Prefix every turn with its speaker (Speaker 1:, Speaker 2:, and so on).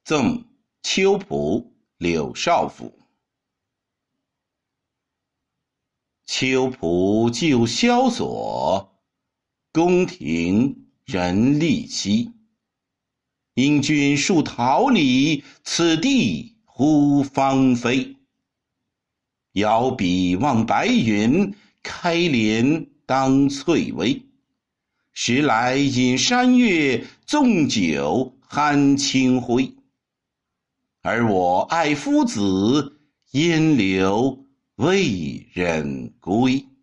Speaker 1: 赠秋浦柳少府。秋浦旧萧索，宫廷人力稀。因君数桃李，此地忽芳菲。遥彼望白云，开帘当翠微。时来饮山月，纵酒酣清辉。而我爱夫子，烟留未忍归。